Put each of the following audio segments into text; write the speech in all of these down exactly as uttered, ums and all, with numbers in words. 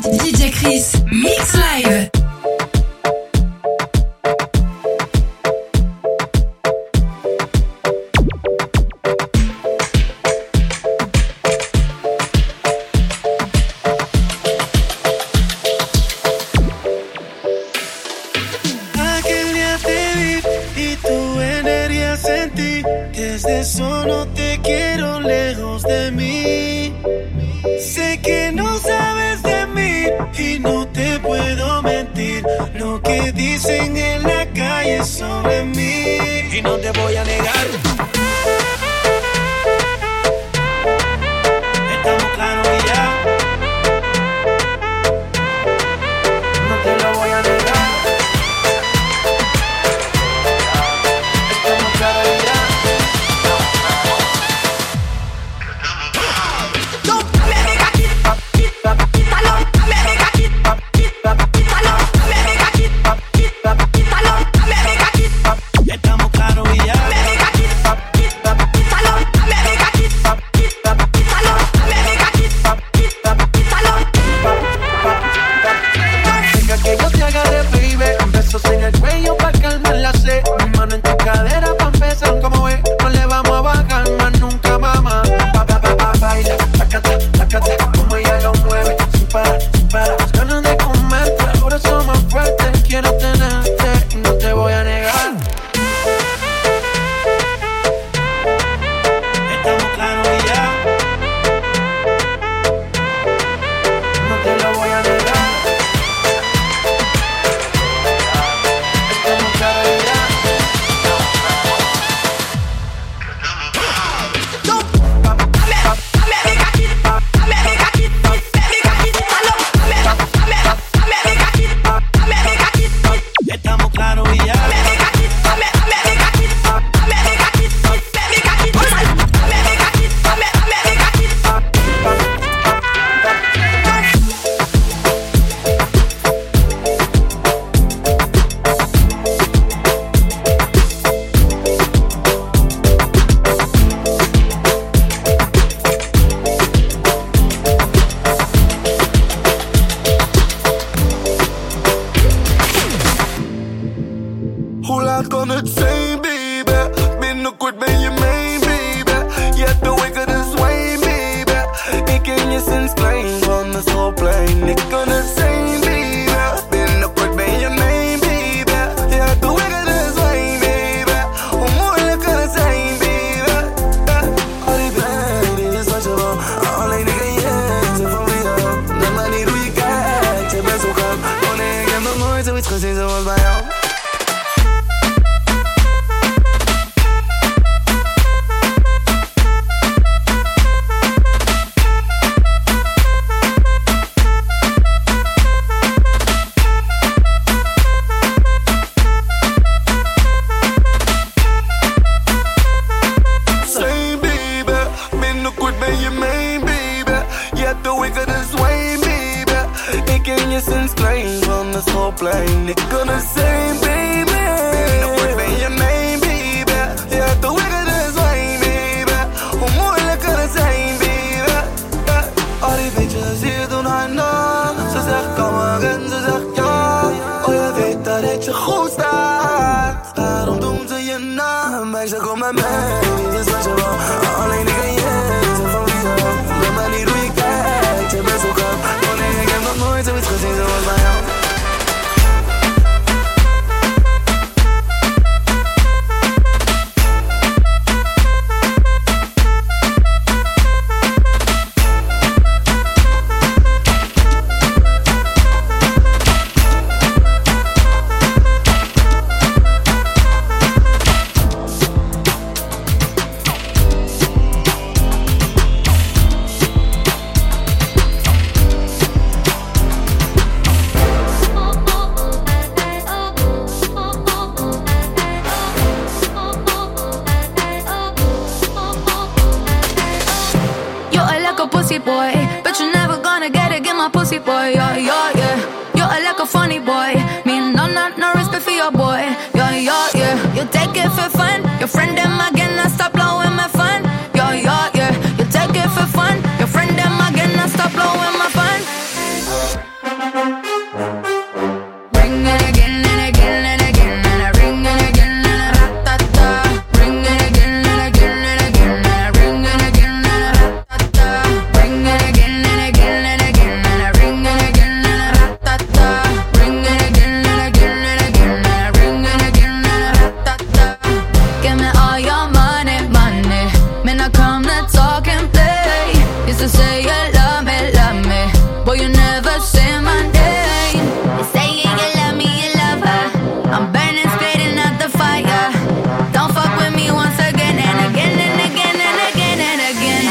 D J Chris, Mix Live. Solo te quiero lejos de mí. Sé que no sabes de mí y no te puedo mentir. Lo que dicen en la calle sobre mí y no te voy a negar. Estamos claros y ya. No te lo voy a negar. Estamos claros y ya. never say my name. You say you love me, you love her. I'm burning, spitting out the fire. Don't fuck with me once again and again and again and again and again.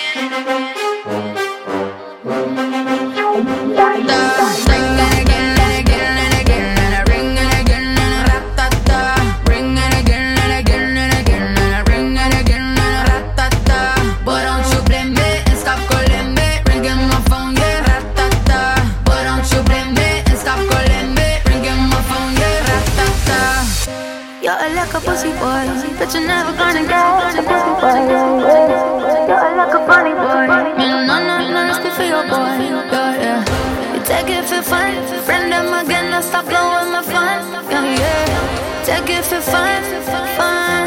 Ring it again and again and again and a ring it again and a ratata. Ring it again and again and again and a ring it again and a ratata. But don't you blame me and stop calling me. Ringing my phone, yeah, ratata. But don't you blame me and stop calling me. Ringing my phone, yeah, ratata. You're like a pussy boy, but you're never gonna get a pussy boy. You're like a funny boy. You know, no, no, no, no, for your boy. Yeah, yeah. You take it for fun. Friend them again, I stop blowing my fun. Yeah, yeah. Take it for fun, fun,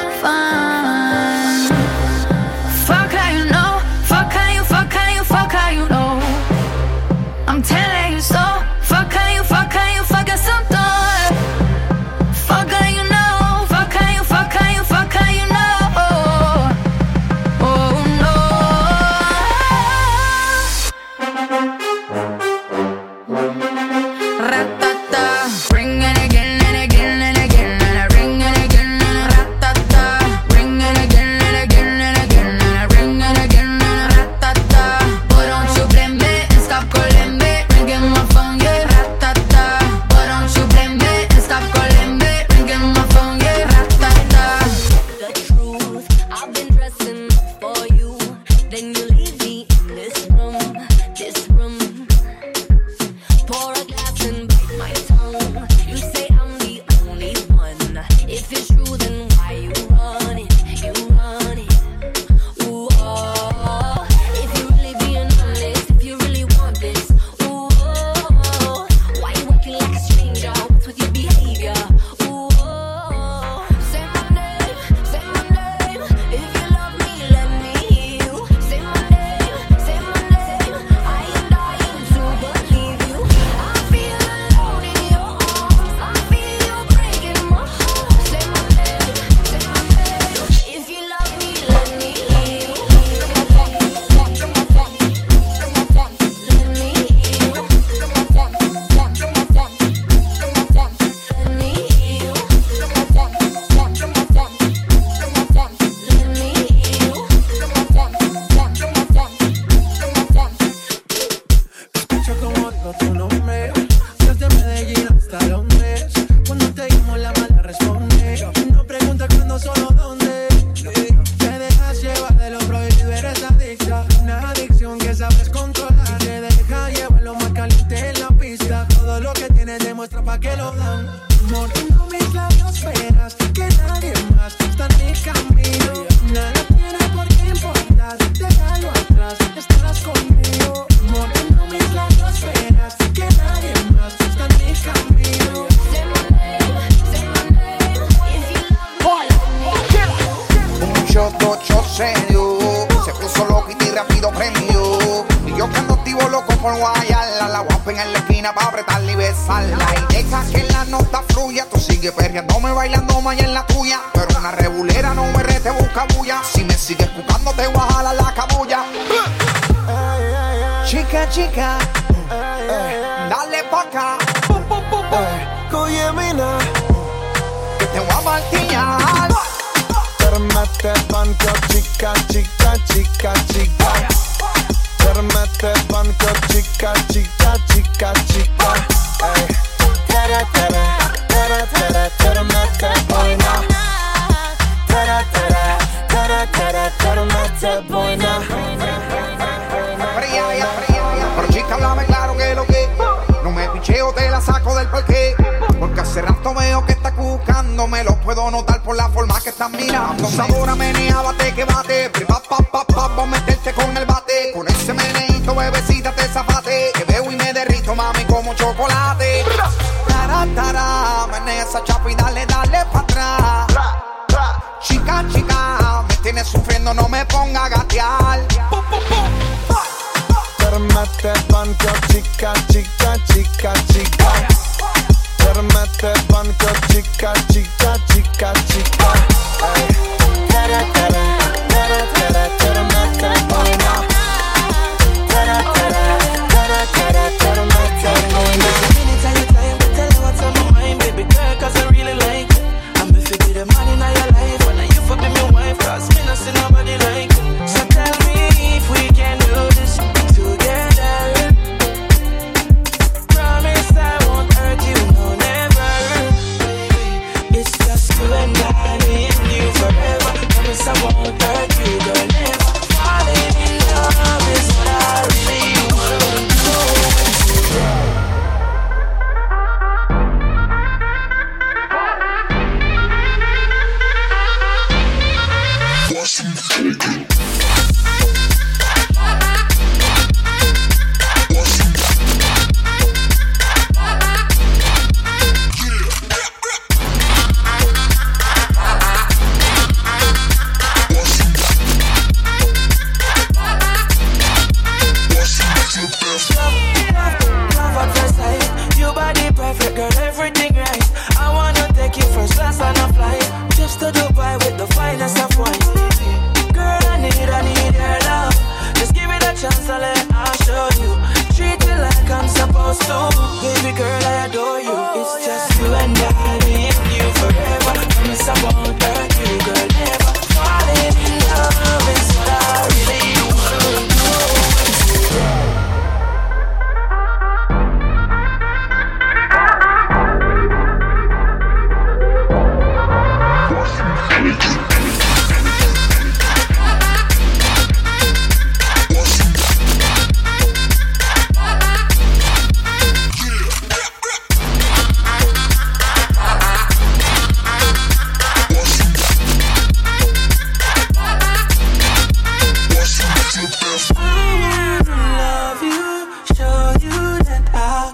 fun. Fuck how you know. Fuck how you, fuck how you, fuck how you know. I'm telling you so. Fuck how you, fuck how you, fuck it some thought. Fuck how you know. Fuck how you, fuck how you, fuck how you know. Oh no. Ratata. Ring it again and again and again and a ring it again and a ratata. Ring it again and again and again and a ring it again and a ratata. But don't you blame me and stop calling me. Ringing my phone, yeah, ratata. But don't you blame me and stop calling me. Ringing my phone, yeah, ratata. The truth, I've been dressing for you. Then you leave me in this room, this room. Pour a glass and bite my tongue. You say I'm the only one. If it's true, then why you run it? You run it. Ooh, oh. If you really being honest, if you really want this, ooh, oh. Why you working like a stranger? What's with your behavior? Ooh, oh. Say my name, say my name. If you love me, let me hear you. Say my name, say my name. I am dying to believe you. I feel alone in your arms. I feel you breaking my heart. Say my name, say my name. If you love me, let me hear you. Let me hear you. Escucho como digo tu nombre, desde Medellín hasta Londres. Cuando te llamo la mala responde. No preguntas cuándo, solo dónde. Te dejas llevar de lo prohibido, eres adicta. Una adicción que sabes controlar. Y te deja llevar lo más caliente en la pista. Todo lo que tienes demuestra pa' que lo dan. Mordiendo mis labios, verás que nadie más está en mi camino. Nada tiene por qué importar, déjalo atrás, estarás conmigo. Mordiendo mis labios, verás que nadie más está en mi camino. Say my name, say my name. If you love me, Un shot, dos shots se dio. Se puso loco y rápido prendió. Y yo que ando activo loco por guayarla. La guapa en la esquina pa' apretarla y besarla. Y deja que la nota fluya. Tú sigue perreándome, bailando más en la tuya. Pero una regulera no me rete, busca bulla. Si me sigues buscando te voy a jalar la cabulla. Chica, chica, eh, dale pa' acá. Eh, Oye, mina, Que te voy a martillar. permete banco, chica, chica, chica, chica. Permete banco, chica, chica, chica, chica. Ey. Tere, tere, tere, tere, permete boina. Tere, tere, tere, tere, permete boina. Fría, ya, fría, ya. Pero chica, háblame claro que lo que. No me picheo, te la saco del parque. Porque hace rato veo que estás buscando. Me lo puedo notar por la forma que estás mirando. Sabora, menea, bate, que bate. Pa, pa, pa, pa, vamos a meterte con el bate. Con ese meneito, bebecita, te zafate. Que veo y me derrito, mami, como chocolate. Tara, tara, menea esa chapa y dale, dale pa' atrás. Chica, chica, me tienes sufriendo, no me ponga a gatear. Permete banco, chica, chica, chica, chica. Permete banco, chica, chica, chica, chica. Ey. Tere, tere, tere, tere, permete boina. Tere, tere, tere, tere,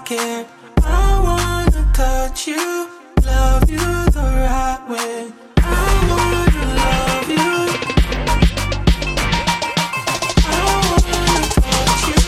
like it. I wanna touch you, love you the right way. I wanna love you. I wanna touch you.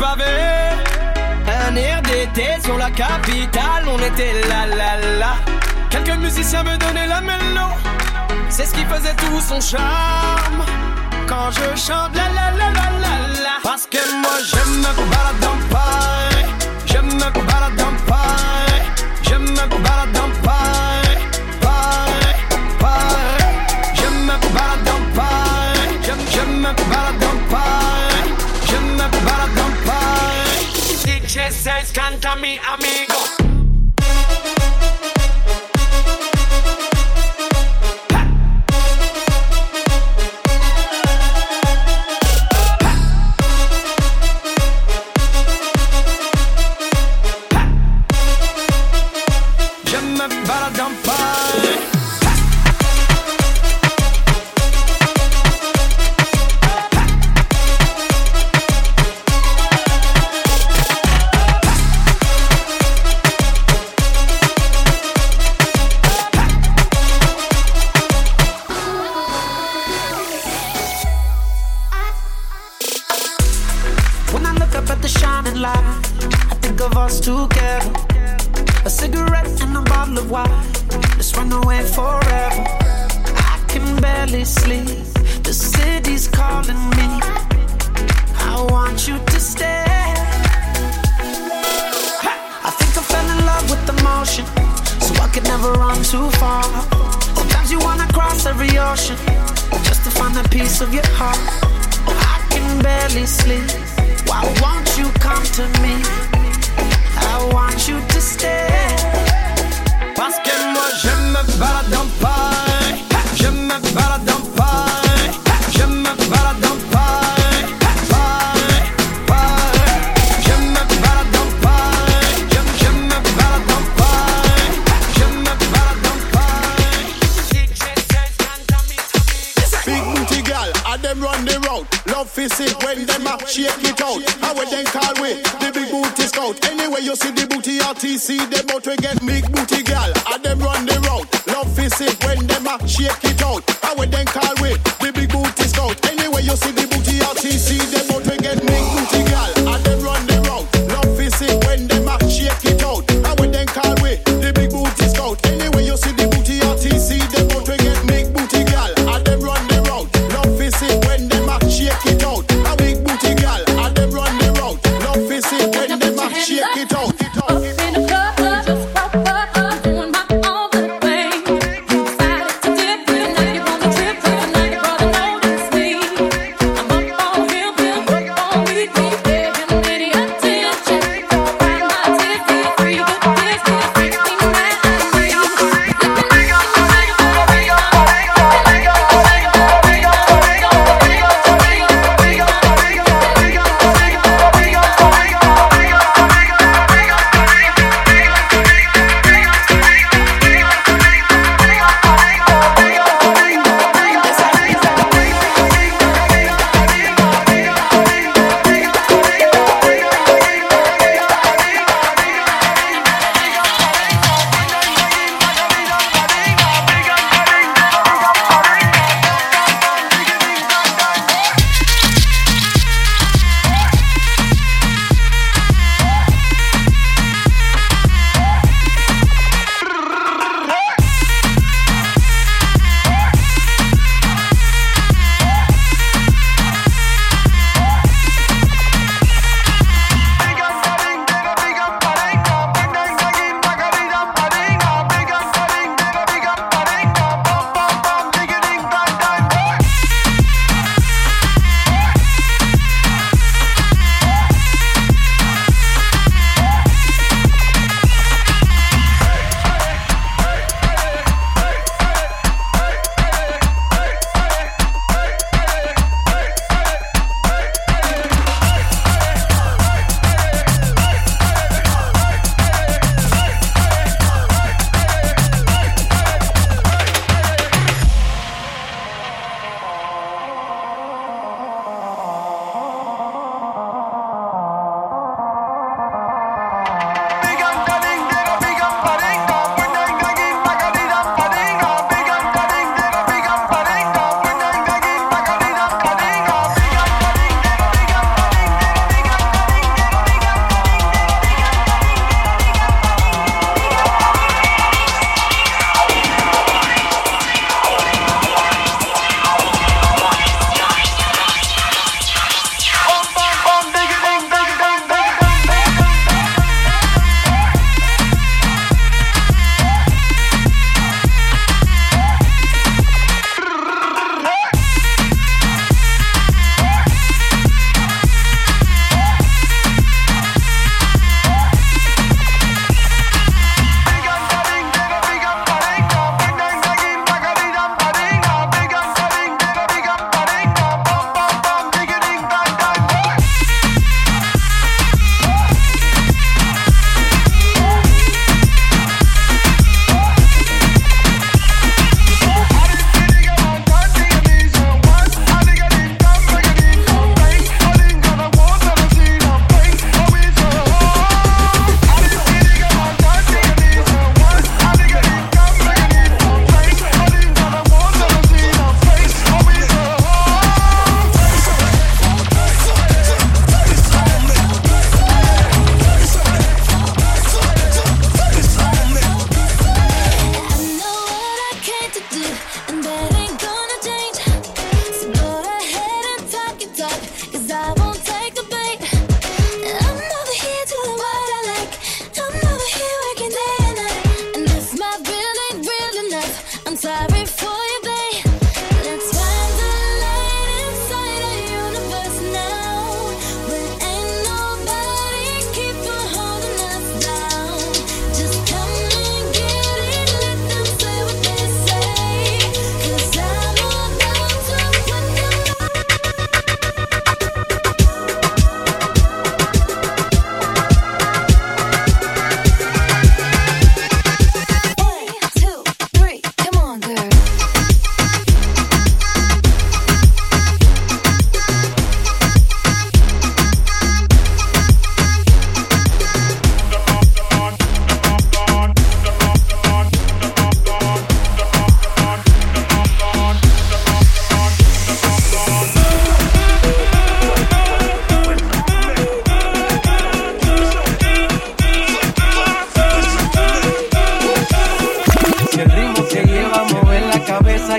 pavé. Un air d'été sur la capitale, on était là là là. Quelques musiciens me donnaient la mélo, c'est ce qui faisait tout son charme. Quand je chante la la la la la la. Parce que moi je me balade dans Paris, je me balade dans Paris, je me balade dans Paris, Paris, Paris. Je me balade dans Paris, je, je me balade dans Paris, je me balade dans Paris. D J says canta mi amigo. Up in the club, just pop up, doing my own little thing. Decided to dip with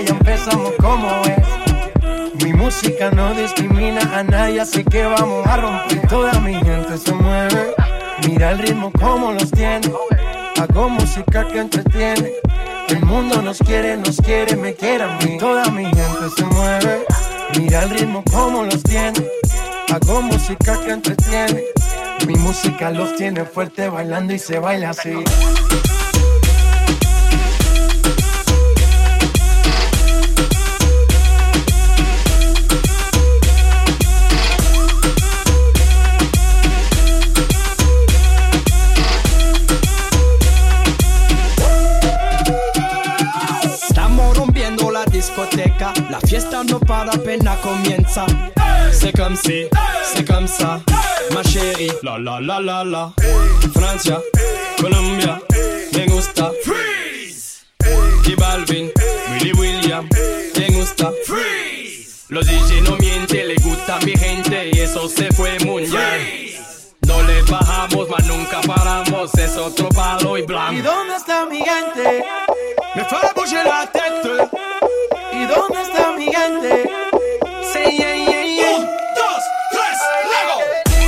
ya empezamos como es. Mi música no discrimina a nadie, así que vamos a romper. Toda mi gente se mueve, mira el ritmo como los tiene. Hago música que entretiene. El mundo nos quiere, nos quiere, me quiere a mí. Toda mi gente se mueve, mira el ritmo como los tiene. Hago música que entretiene. Mi música los tiene fuerte bailando y se baila así. Discoteca, la fiesta no para, apenas comienza. C'est comme si, c'est comme ça, ma chérie. La la la la la. Francia, Colombia, me gusta. Freeze. J Balvin, Willy William, me gusta. Freeze. Los D J no mienten, le gusta a mi gente y eso se fue mundial. No le bajamos, mas nunca paramos, es otro palo y blanco. ¿Y dónde está mi gente? Me fue a bouger la tête. ¿Y dónde está mi gente? Sí, yeah, yeah, yeah. Un, dos, tres, luego.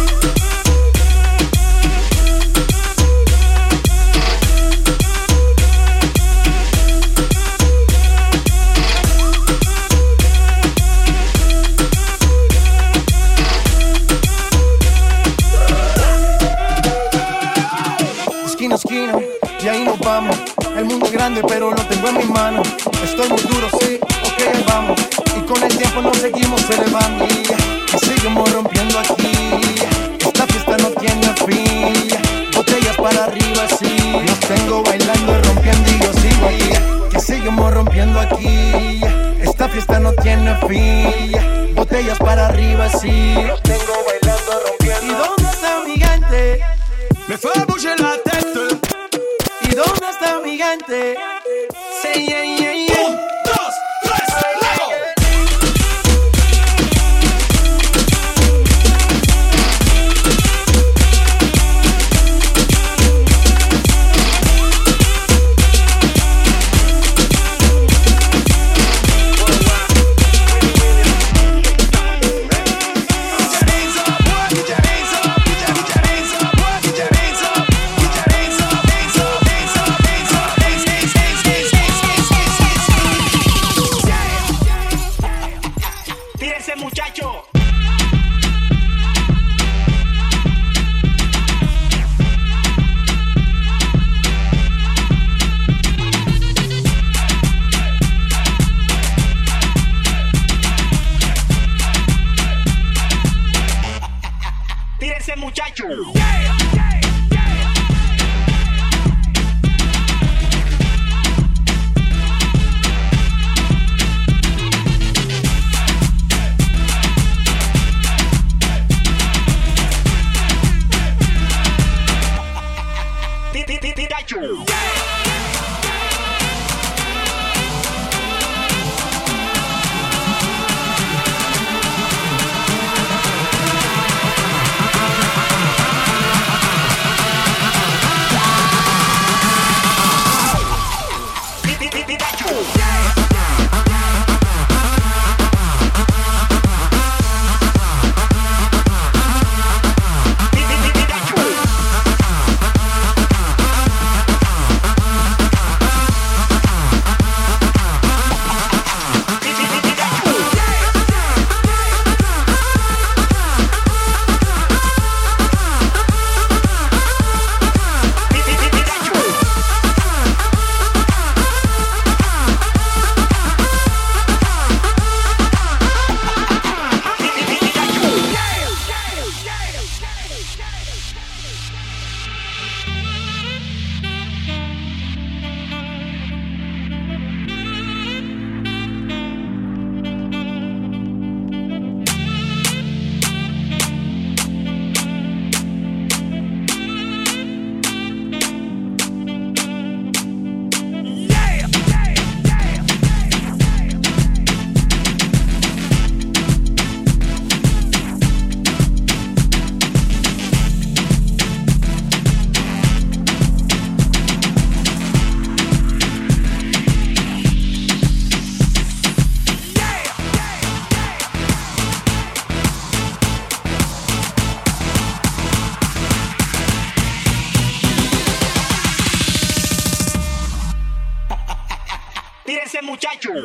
Esquina, esquina, y ahí nos vamos. El mundo es grande, pero lo tengo en mis manos. Estoy muy duro, sí, ok, ahí vamos. Y con el tiempo nos seguimos elevando. Y seguimos rompiendo aquí. Esta fiesta no tiene fin. Botellas para arriba, sí. Los tengo bailando y rompiendo y yo sigo aquí. Que seguimos rompiendo aquí. Esta fiesta no tiene fin. Botellas para arriba, sí. Los tengo bailando y rompiendo. ¿Y dónde está mi gente? Me fue a bouger la tête. ¿Y dónde está mi gente? Sí, yeah, yeah, yeah. Un, dos, tres, luego. Tírense, muchachos.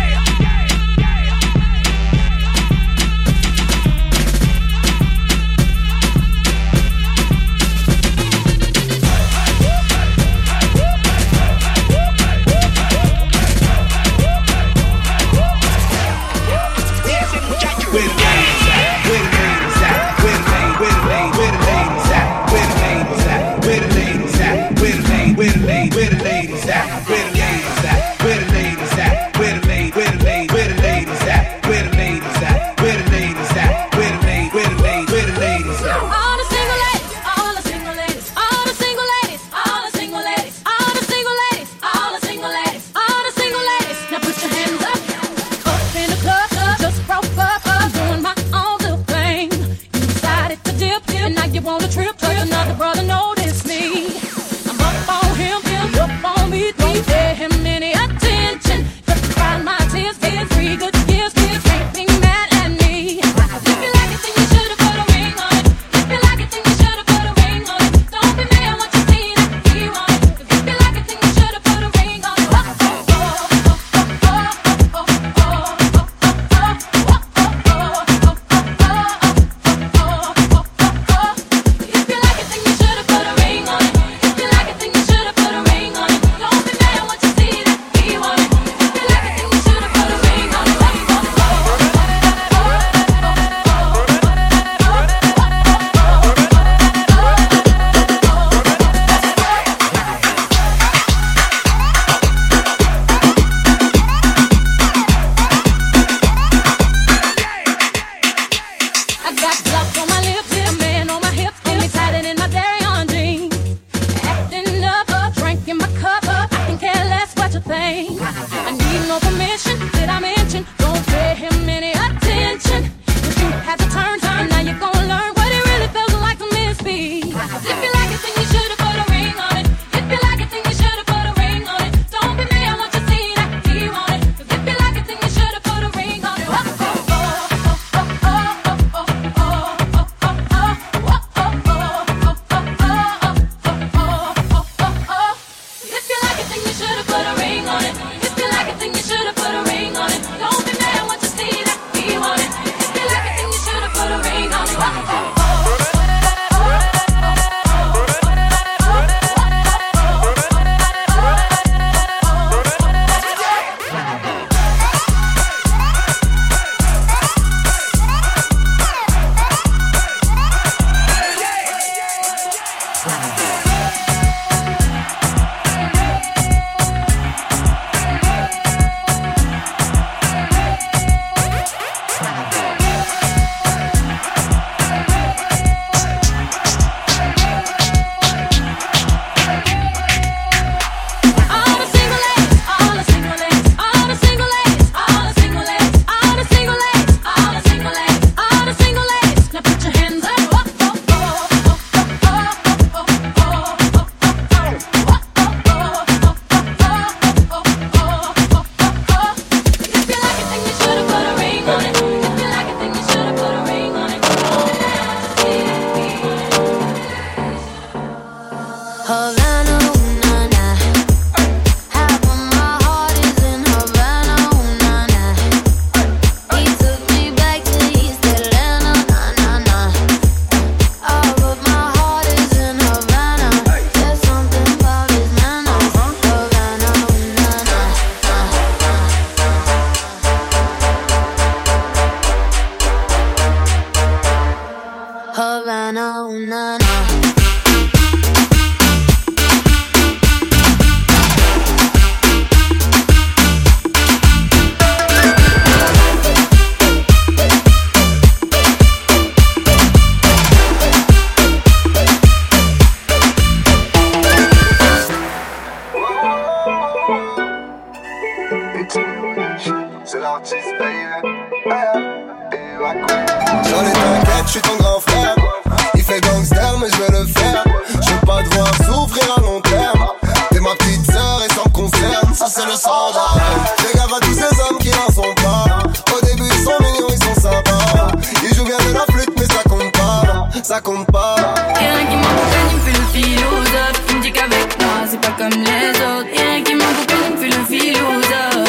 J'en ai t'inquiète, je suis ton grand frère. Il fait gangster mais je vais le faire. Je veux pas devoir souffrir à long terme. T'es ma petite sœur et ça me concerne. Ça c'est le standard. Fais gaffe à tous ces hommes qui n'en sont pas. Au début ils sont mignons, ils sont sympas. Ils jouent bien de la flûte mais ça compte pas. Ça compte pas. Rien qui m'accompagne, il me fait le philosophe. Il me dit qu'avec moi c'est pas comme les autres. Rien qui m'accompagne, il me fait le philosophe.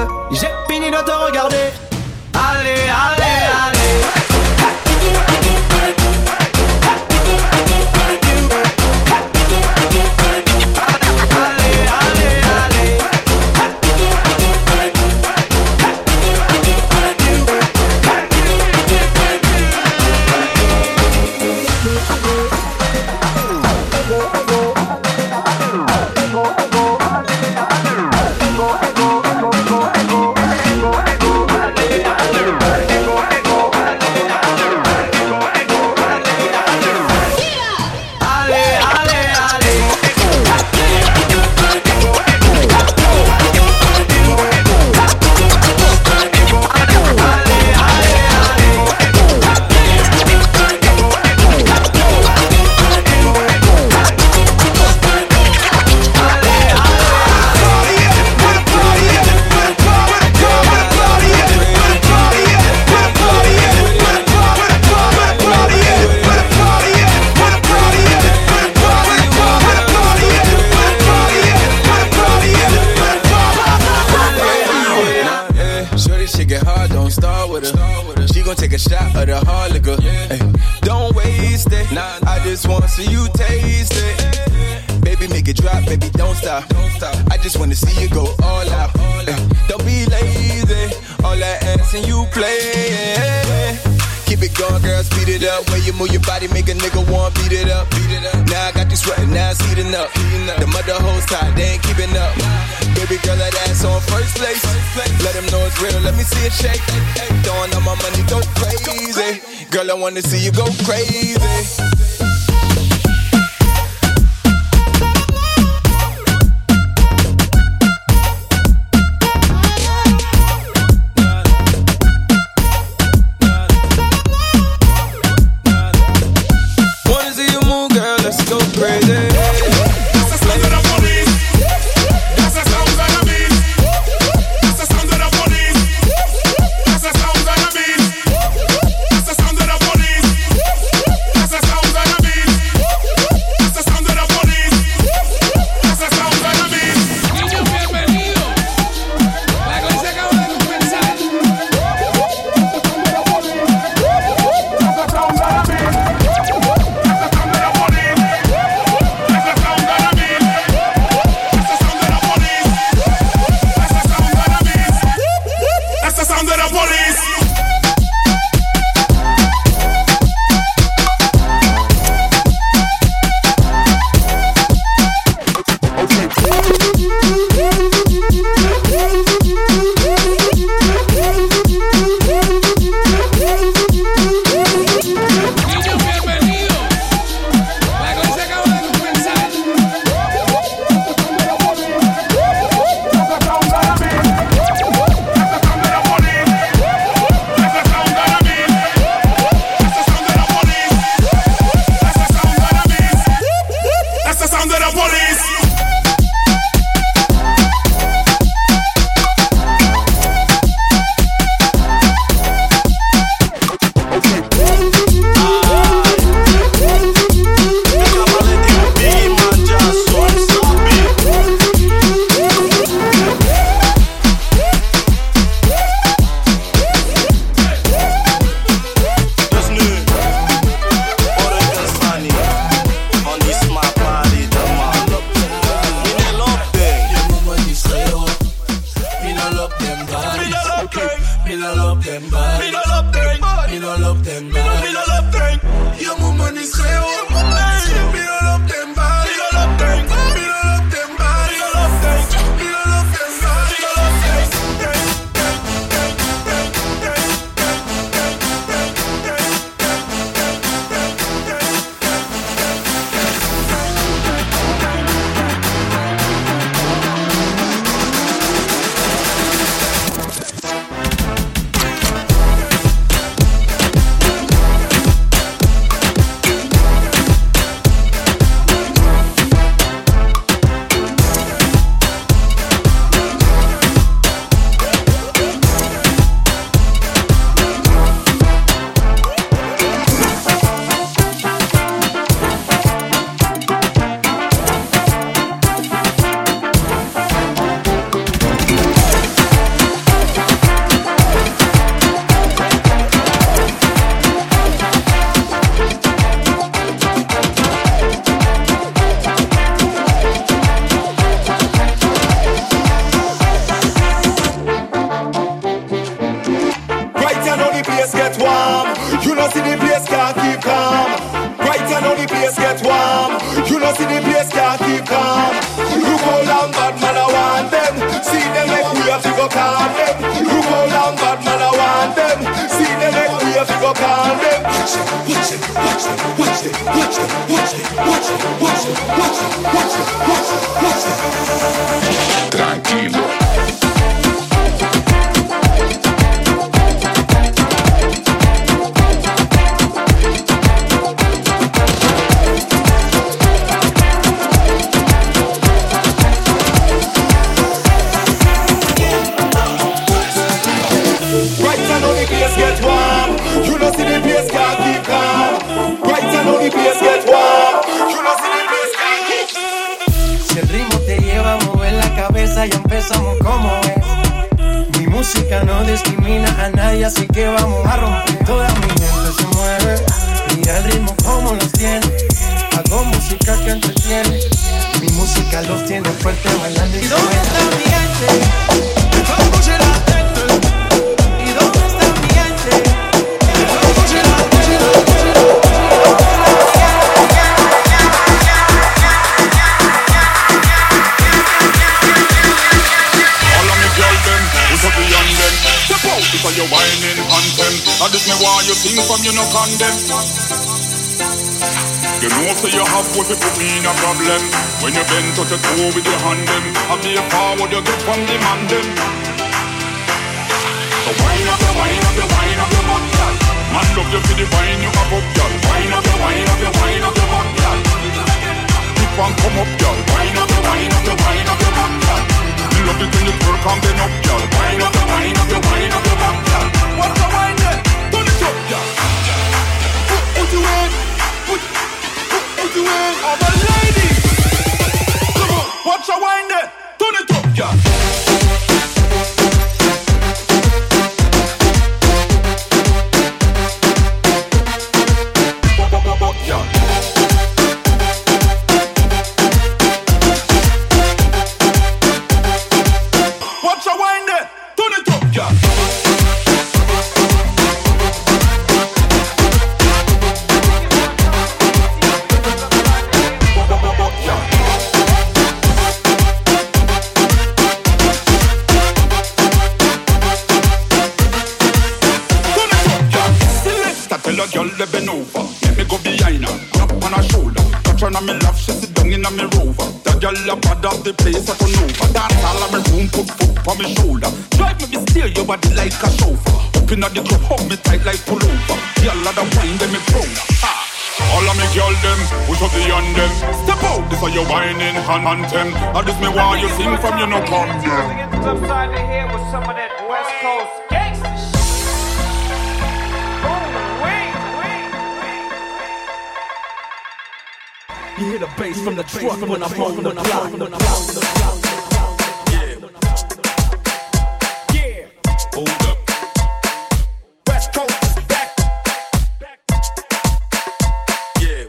j'ai fini de te regarder. Allez, allez, allez. Move your body, make a nigga want beat it up. Beat it up. Now I got you sweating, now it's heating up. The mother hoes tired, they ain't keeping up. Baby girl, that ass on first place. Let them know it's real, let me see it shake. Throwing all my money, go crazy. Girl, I wanna see you go crazy. go call them. Look how long bad man I want them. See them make way fi go call them. Watch them, watch them, watch them, watch them, watch them, watch them, watch them, watch them, watch them, watch them, watch them, watch them. Tranquilo. Ya empezamos como es. Mi música no discrimina a nadie, así que vamos a romper. Toda mi gente se mueve, mira el ritmo como los tiene. Hago música que entretiene, mi música los tiene fuerte bailando. ¿Y dónde está mi gente? ¿Cómo será la gente? ¿Y dónde está mi gente? ¿Cómo será la gente? Because you're whining anthem. And this me why you sing from you no condemn. You know so you have what you put me in a problem. When you bend to the toe with your hand them, I be a forward you get from the man them. So wine up your wine up your wine up your butt, girl. Man love you for the wine you have up, girl. Wine up your wine up your wine up your butt, girl. Keep on come up, girl. Wine up your wine up your wine up your butt, girl. Love it when you twerk and bend up, girl. Wine up your wine up your wine up your butt, girl. What's the wine there? Turn it up, girl. Put, put you in, put, put, put you in. Oh my lady, come on, watch your wine there. Turn it up, girl. Me love, she sit down in a me rover. The girl a bad of the place I turn over. Dance all of me room, put foot on me shoulder. Drive me, be steer your body like a chauffeur. Up in the club, hold me tight like pullover. Girl a the wine, them me proud. Ah. All of me girl them, push up the on them. Step out, this are your whining hand anthem. And this me why you sing from you no come. Upside the head with some of that West Coast gangsta shit. You hear the bass from the truck when I'm on the block. Yeah. Yeah. Hold up. West Coast is back. Yeah.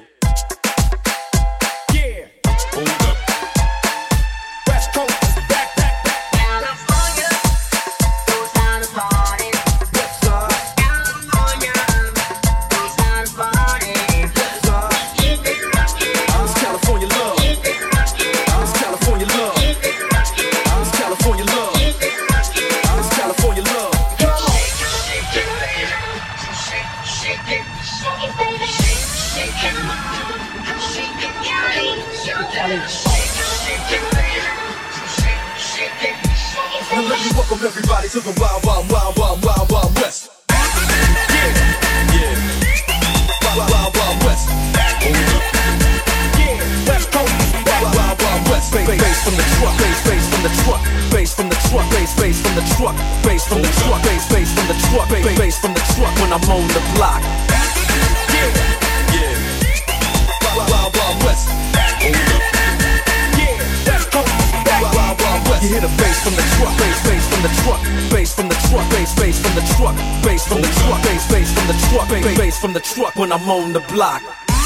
Yeah. Hold up. West Coast is back. California goes down to party. Yes, sir. California goes down to party. Yes, sir. Keep it rockin'. It's California love. Keep it rockin'. It's California love. Keep it rockin'. It's California love. Keep it rockin'. It's California love. Shake it, baby. Shake, shake it, shake it, baby. Shake, shake it, shake it, Kelly. Shake it, Kelly. Shake, shake it, baby. Shake, shake it, shake it, Now baby. let me welcome everybody to the Wild, Wild, Wild, Wild, Wild, Wild West. Yeah. Yeah. Wild, Wild, Wild West. Hold up. Yeah, West Coast is back. Wild, Wild, Wild West. Bass, bass from the truck, bass, bass from the truck, bass from the truck, bass, bass from the truck, bass from the truck, bass, bass from the truck, bass, bass from the truck when I'm on the block. Yeah, Yeah. Wild, Wild, Wild West. Hold up. Yeah, West Coast is back. Wild, Wild, Wild West. You hear the bass from the truck, bass, bass from the truck, bass from the truck, bass, bass from the truck, bass from the truck, bass, bass from the truck, bass, bass from the truck when I'm on the block.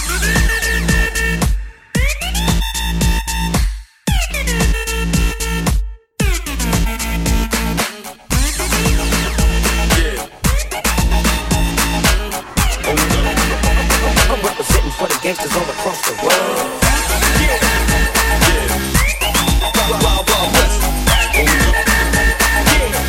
I'm representing for the gangsters all across the world. Wild, Wild, Wild West.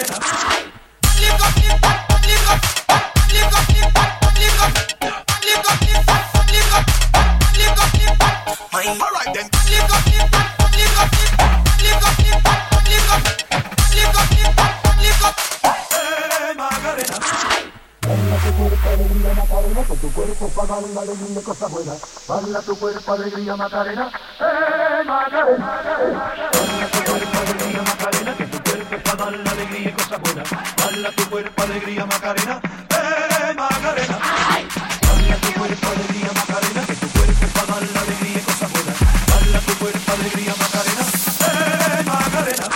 Alright then. Tu cuerpo para dar una alegría y cosas buenas. Baila tu cuerpo, alegría, Macarena. ¡Eh, Macarena! Baila tu cuerpo, alegría, Macarena. Que tu cuerpo es para dar la alegría y cosas buenas. Baila tu cuerpo, alegría, Macarena. ¡Eh, Macarena! Baila tu cuerpo, alegría, Macarena. Que tu cuerpo es para dar la alegría y cosas buenas. Baila tu cuerpo, alegría, Macarena. ¡Eh, Macarena!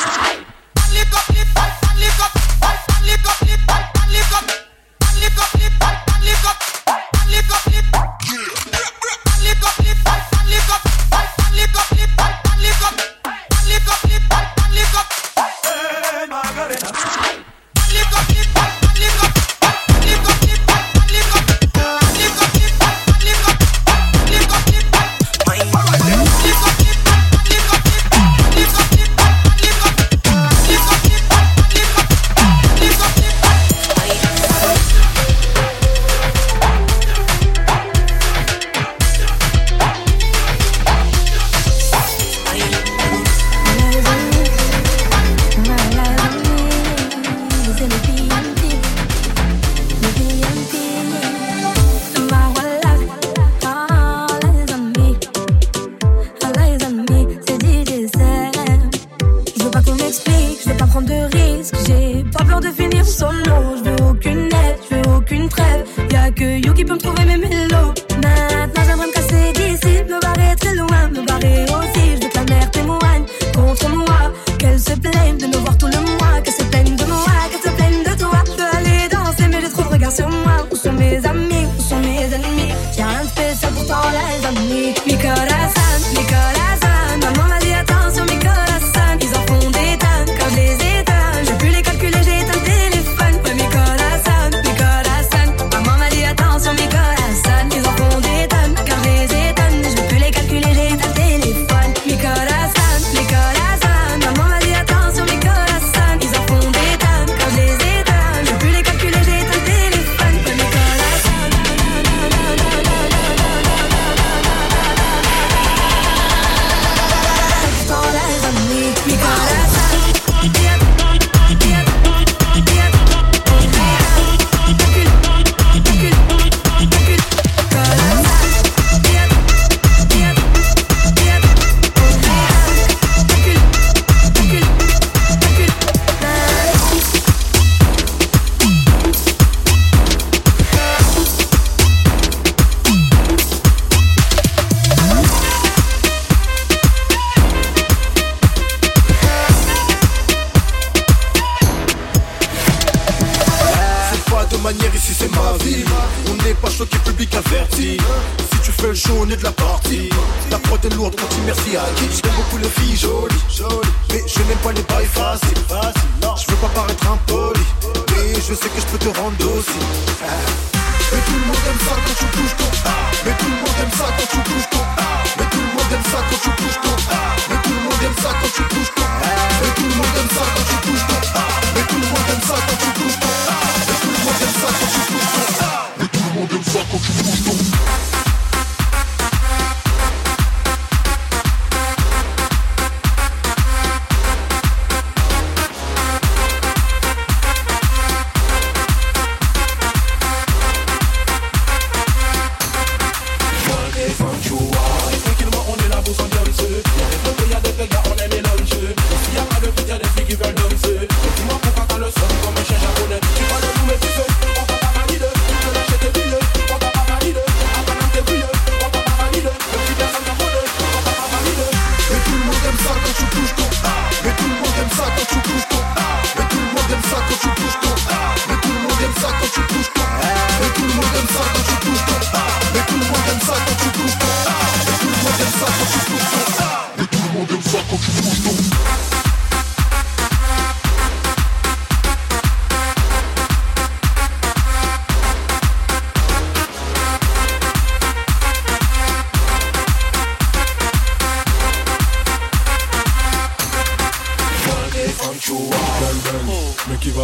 Tranquillement on est là pour s'ambiancer. Y'a des bébés, y'a des gars, on aime mélanger.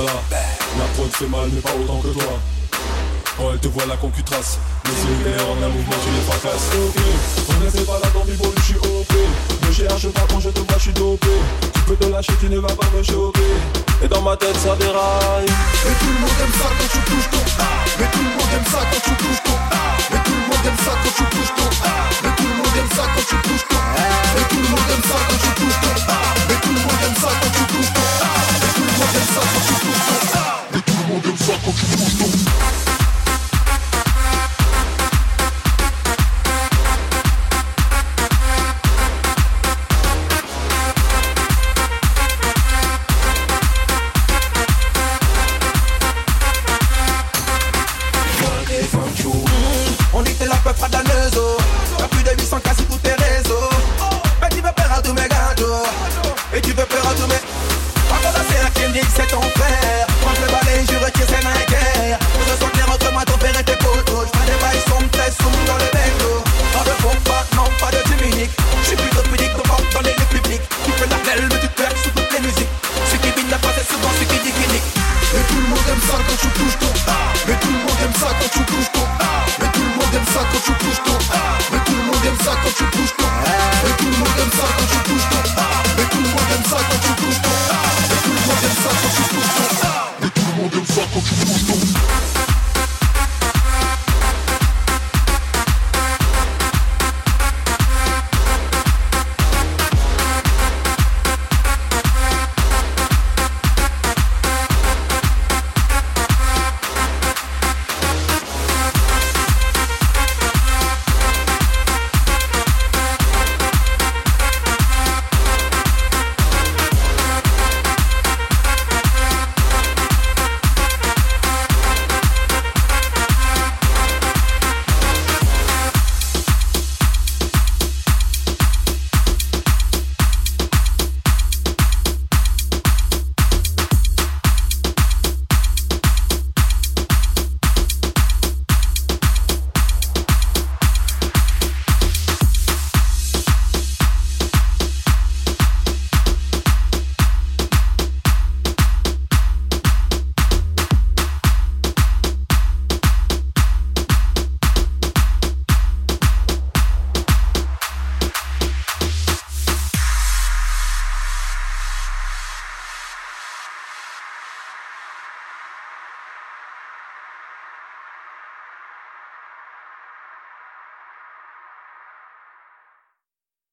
voilà. La prod fait mal mais pas autant que toi. Quand elle te voit la concutrace, les yeux clairs en un mouvement tu les fracasses. Ok, on ne fait pas là dans du beau, je suis O P. Ne cherche pas quand je te vois, je suis dopé. Tu peux te lâcher, tu ne vas pas me choquer. Et dans ma tête ça déraille. Mais tout le monde aime ça quand tu touches ton ah. Mais tout le monde aime ça quand tu touches ton ah. Mais tout le monde aime ça quand tu touches ton ah. Mais tout le monde aime ça quand tu touches ton ah. Mais tout le monde aime ça quand tu touches ton ah. Mais tout le monde aime ça quand tu touches ton ah. Mais tout le monde aime ça quand tu touches ton ah. Mais tout le monde aime ça quand tu touches ton On était la peuple fradaneuse. T'as plus de huit cents quasi tous tes réseaux. Mais tu veux peur à tous mes gâteaux. Et tu veux peur à tous mes. Quand on a fait un Kendrick, c'est ton frère. Quand je le balaye, je retire ses mains guerre. Pour se sentir entre moi, ton père et tes potos. J'fais des bails sombres, très sombres dans le bédo. Pas de faux pas, non, pas de Dominique. J'suis plutôt pudique, ton porte dans les lieux publics. Tu fais la belle, mais tu te perds sous toutes les musiques. Ce qui vient n'a pas, c'est souvent ce qui dit qu'il nique. Mais tout le monde aime ça quand tu touches ton ah. Mais tout le monde aime ça quand tu touches ton ah. Mais tout le monde aime ça quand tu touches ton ah. Mais tout le monde aime ça quand tu touches ton ah. Mais tout le monde aime ça quand tu touches ton ah. Mais tout le monde aime ça quand tu touches ton ah. Mais tout le monde aime ça quand tu touches ton